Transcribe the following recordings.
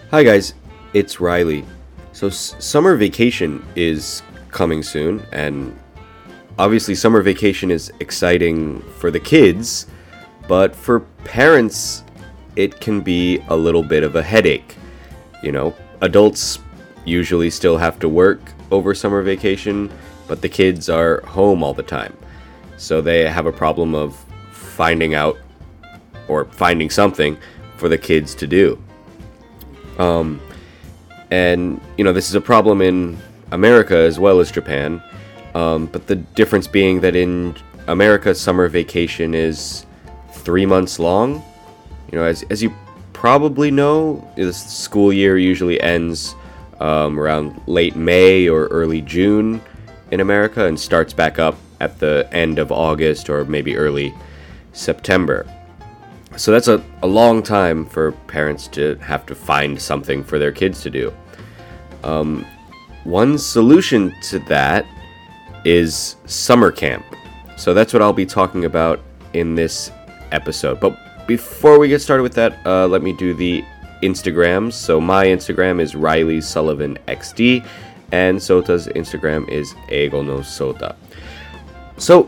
Hi guys, it's Riley. So summer vacation is coming soon, and obviously summer vacation is exciting for the kids, but for parents it can be a little bit of a headache. Adults usually still have to work over summer vacation, but the kids are home all the time. So they have a problem of finding out or finding something for the kids to do. This is a problem in America as well as Japan. But the difference being that in America, summer vacation is 3 months long. As you probably know, the school year usually ends around late May or early June in America and starts back up at the end of August or maybe early September. So that's a long time for parents to have to find something for their kids to do. One solution to that is summer camp. So that's what I'll be talking about in this episode. But before we get started with that, let me do the Instagrams. So my Instagram is Riley Sullivan XD, and Sota's Instagram is Eigo no Sota. So,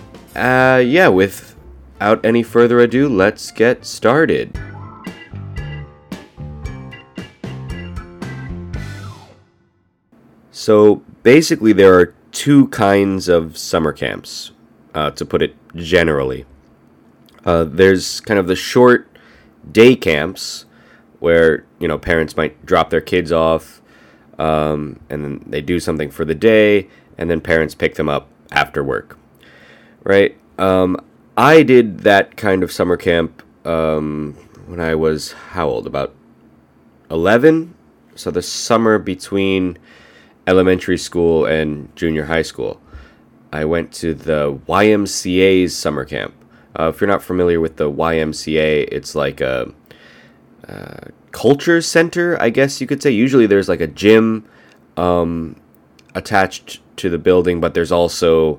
without any further ado, let's get started. So basically there are two kinds of summer camps, to put it generally. There's kind of the short day camps where, parents might drop their kids off, and then they do something for the day, and then parents pick them up after work, right? I did that kind of summer camp when I was, how old? About 11? So the summer between elementary school and junior high school. I went to the YMCA's summer camp. If you're not familiar with the YMCA, it's like a culture center, I guess you could say. Usually there's like a gym attached to the building, but there's also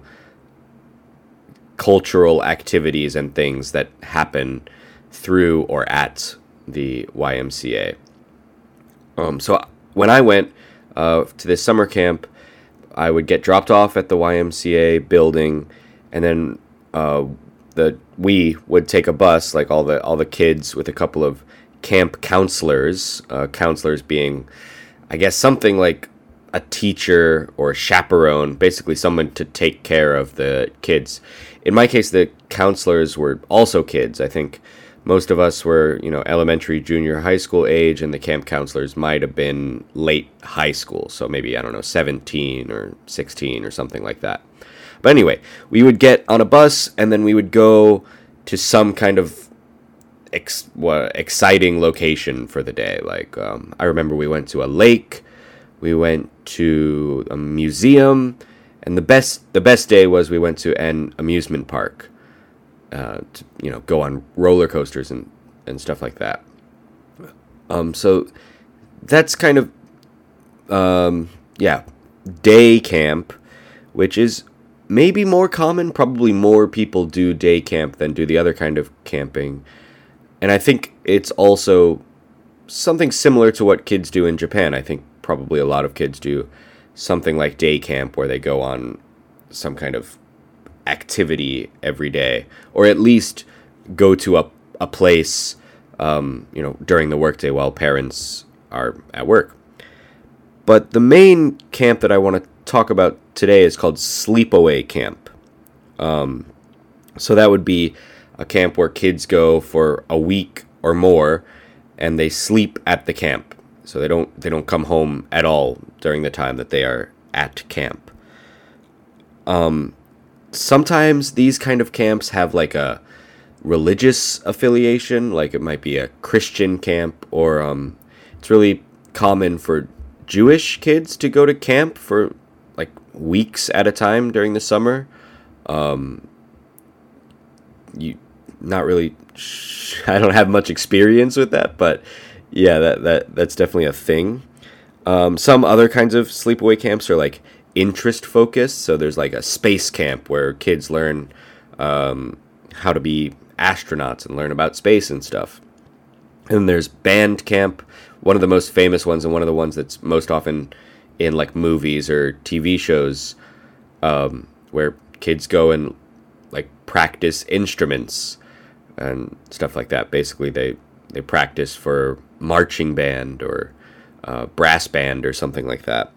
cultural activities and things that happen through or at the YMCA. So when I went to this summer camp, I would get dropped off at the YMCA building, and then we would take a bus, like all the kids, with a couple of camp counselors. Counselors being, I guess, something like a teacher or a chaperone, basically someone to take care of the kids. In my case, the counselors were also kids. I think most of us were, elementary, junior, high school age, and the camp counselors might have been late high school. So maybe, 17 or 16 or something like that. But anyway, we would get on a bus and then we would go to some kind of exciting location for the day. Like, I remember we went to a lake, we went to a museum, and the best day was we went to an amusement park. To go on roller coasters and stuff like that. So that's kind of day camp, which is maybe more common. Probably more people do day camp than do the other kind of camping. And I think it's also something similar to what kids do in Japan. I think probably a lot of kids do something like day camp where they go on some kind of activity every day, or at least go to a place during the workday while parents are at work. But the main camp that I want to talk about today is called sleepaway camp. So that would be a camp where kids go for a week or more and they sleep at the camp. So they don't come home at all during the time that they are at camp. Sometimes these kind of camps have like a religious affiliation, like it might be a Christian camp, or it's really common for Jewish kids to go to camp for like weeks at a time during the summer. Not really, I don't have much experience with that, but yeah, that's definitely a thing. Some other kinds of sleepaway camps are like interest focused. So there's like a space camp where kids learn how to be astronauts and learn about space and stuff. And there's band camp, one of the most famous ones and one of the ones that's most often in like movies or TV shows, where kids go and like practice instruments and stuff like that. Basically, they practice for marching band or brass band or something like that.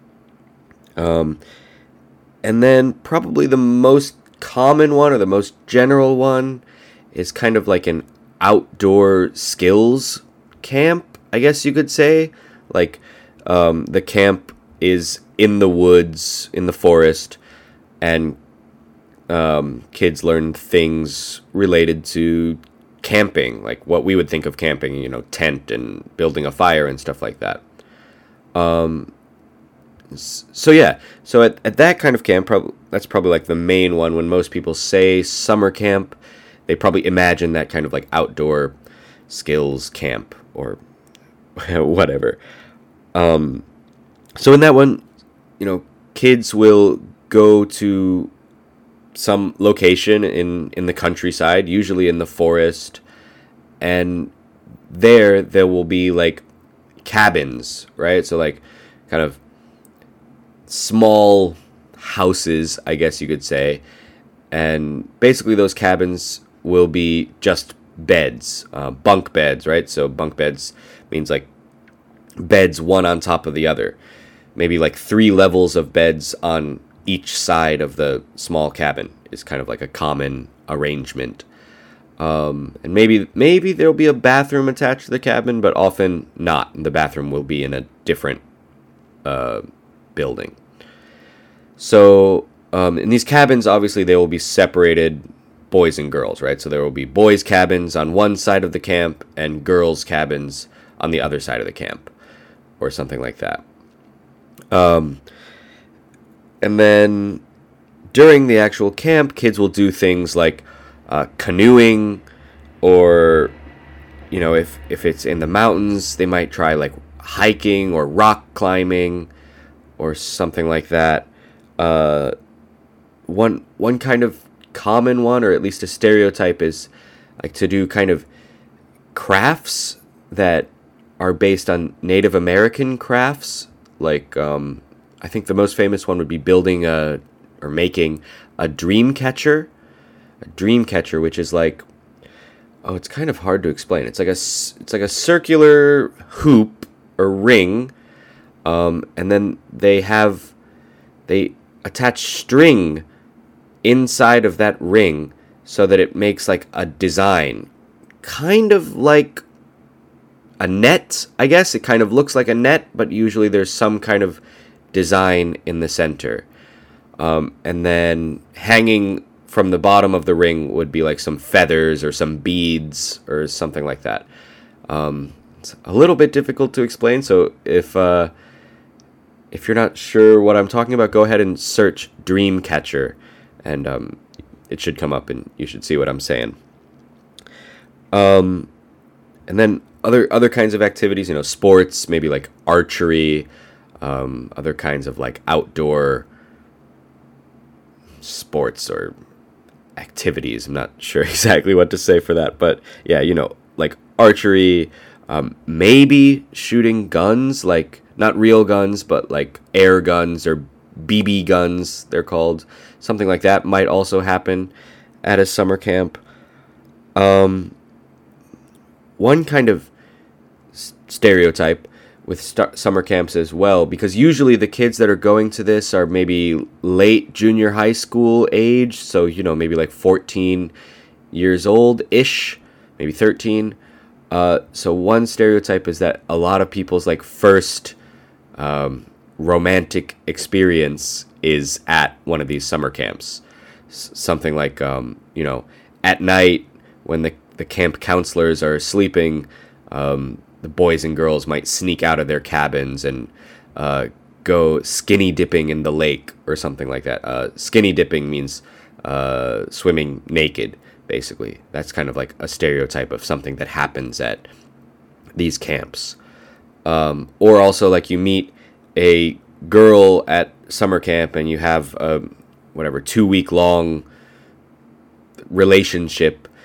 And then probably the most common one or the most general one is kind of like an outdoor skills camp, I guess you could say. Like, the camp is in the woods, in the forest, and kids learn things related to camping, like what we would think of camping, tent and building a fire and stuff like that. So yeah, so at that kind of camp, that's probably like the main one. When most people say summer camp, they probably imagine that kind of like outdoor skills camp or whatever. So in that one, kids will go to some location in the countryside, usually in the forest, and there will be like cabins, right? So like kind of small houses, I guess you could say, and basically those cabins will be just beds, bunk beds, right? So bunk beds means like beds one on top of the other, maybe like 3 levels of beds on each side of the small cabin is kind of like a common arrangement. And maybe there'll be a bathroom attached to the cabin, but often not. The bathroom will be in a different building. So in these cabins, obviously they will be separated, boys and girls, right? So there will be boys' cabins on one side of the camp and girls' cabins on the other side of the camp, or something like that. And then during the actual camp, kids will do things like canoeing, or if it's in the mountains, they might try like hiking or rock climbing or something like that. One kind of common one, or at least a stereotype, is like to do kind of crafts that are based on Native American crafts. Like I think the most famous one would be making a dream catcher. A dream catcher, which is like, it's kind of hard to explain. It's like a circular hoop or ring, and then they attach string inside of that ring so that it makes like a design, kind of like a net, I guess. It kind of looks like a net, but usually there's some kind of design in the center. And then hanging from the bottom of the ring would be like some feathers or some beads or something like that. It's a little bit difficult to explain, so if you're not sure what I'm talking about, go ahead and search dream catcher, and it should come up and you should see what I'm saying. And then other kinds of activities, sports, maybe like archery, other kinds of like outdoor sports or activities. I'm not sure exactly what to say for that, but yeah, like archery, maybe shooting guns, like not real guns, but like air guns or BB guns, they're called. Something like that might also happen at a summer camp. One kind of stereotype with summer camps as well, because usually the kids that are going to this are maybe late junior high school age, so maybe like 14 years old-ish, maybe 13. So one stereotype is that a lot of people's like first romantic experience is at one of these summer camps. Something like at night when the camp counselors are sleeping, the boys and girls might sneak out of their cabins and go skinny dipping in the lake or something like that. Skinny dipping means swimming naked, basically. That's kind of like a stereotype of something that happens at these camps. Or also, like, you meet a girl at summer camp and you have a 2-week long relationship,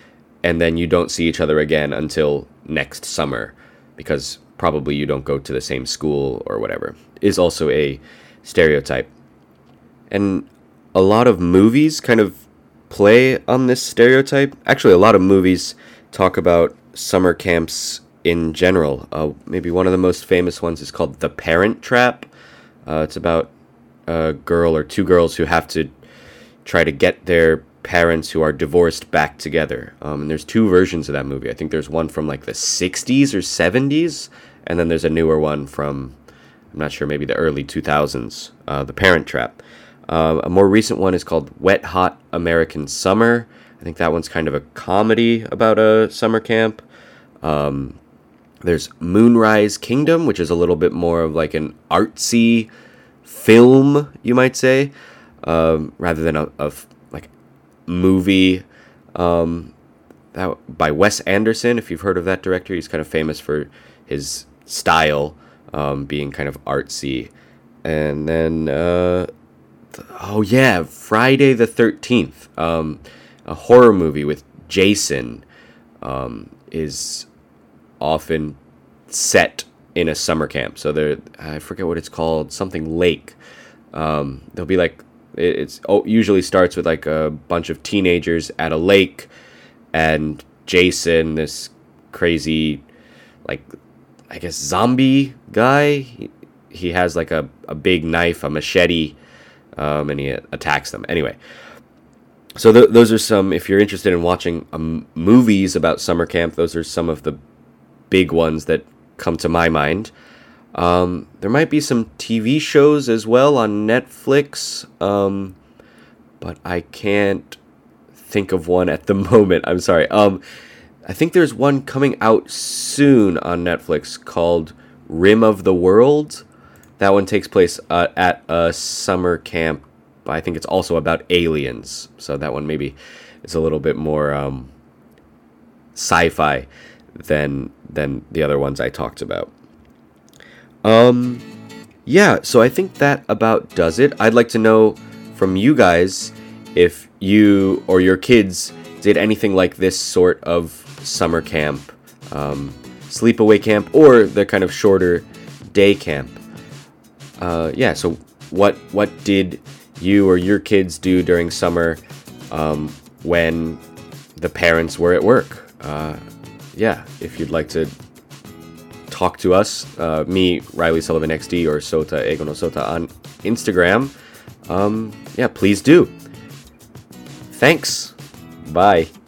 and then you don't see each other again until next summer because probably you don't go to the same school or whatever, is also a stereotype. And a lot of movies kind of play on this stereotype. Actually, a lot of movies talk about summer camps in general. Maybe one of the most famous ones is called The Parent Trap. It's about a girl or two girls who have to try to get their parents who are divorced back together. And there's two versions of that movie. I think there's one from like the 60s or 70s, and then there's a newer one from, I'm not sure, maybe the early 2000s, The Parent Trap. A more recent one is called Wet Hot American Summer. I think that one's kind of a comedy about a summer camp. There's Moonrise Kingdom, which is a little bit more of like an artsy film, you might say, rather than a like movie. That by Wes Anderson. If you've heard of that director, he's kind of famous for his style being kind of artsy. And then, Friday the 13th, a horror movie with Jason, is often set in a summer camp. So I forget what it's called, something lake. There'll be like, usually starts with like a bunch of teenagers at a lake, and Jason, this crazy, like, I guess zombie guy, he has like a big knife, a machete, and he attacks them. Anyway, so those are some, if you're interested in watching movies about summer camp, those are some of the big ones that come to my mind. There might be some TV shows as well on Netflix, but I can't think of one at the moment. I'm sorry. I think there's one coming out soon on Netflix called Rim of the World. That one takes place at a summer camp. I think it's also about aliens. So that one maybe is a little bit more sci-fi than the other ones I talked about. So I think that about does it. I'd like to know from you guys if you or your kids did anything like this sort of summer camp, sleepaway camp, or the kind of shorter day camp. So what did you or your kids do during summer when the parents were at work? If you'd like to talk to us, me, Riley Sullivan XD, or Sota Ego no Sota on Instagram, please do. Thanks. Bye.